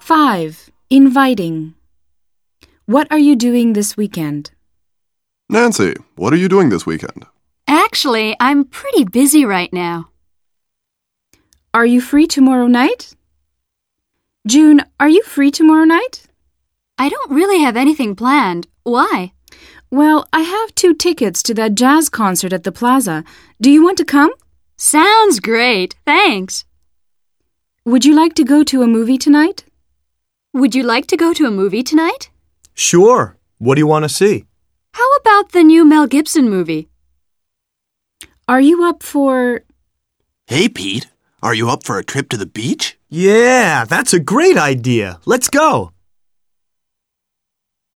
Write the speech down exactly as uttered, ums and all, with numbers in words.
five. Inviting. What are you doing this weekend? Nancy, what are you doing this weekend? Actually, I'm pretty busy right now. Are you free tomorrow night? June, are you free tomorrow night? I don't really have anything planned. Why? Well, I have two tickets to that jazz concert at the plaza. Do you want to come? Sounds great. Thanks. Would you like to go to a movie tonight? Would you like to go to a movie tonight? Sure. What do you want to see? How about the new Mel Gibson movie? Are you up for... Hey, Pete. Are you up for a trip to the beach? Yeah, that's a great idea. Let's go.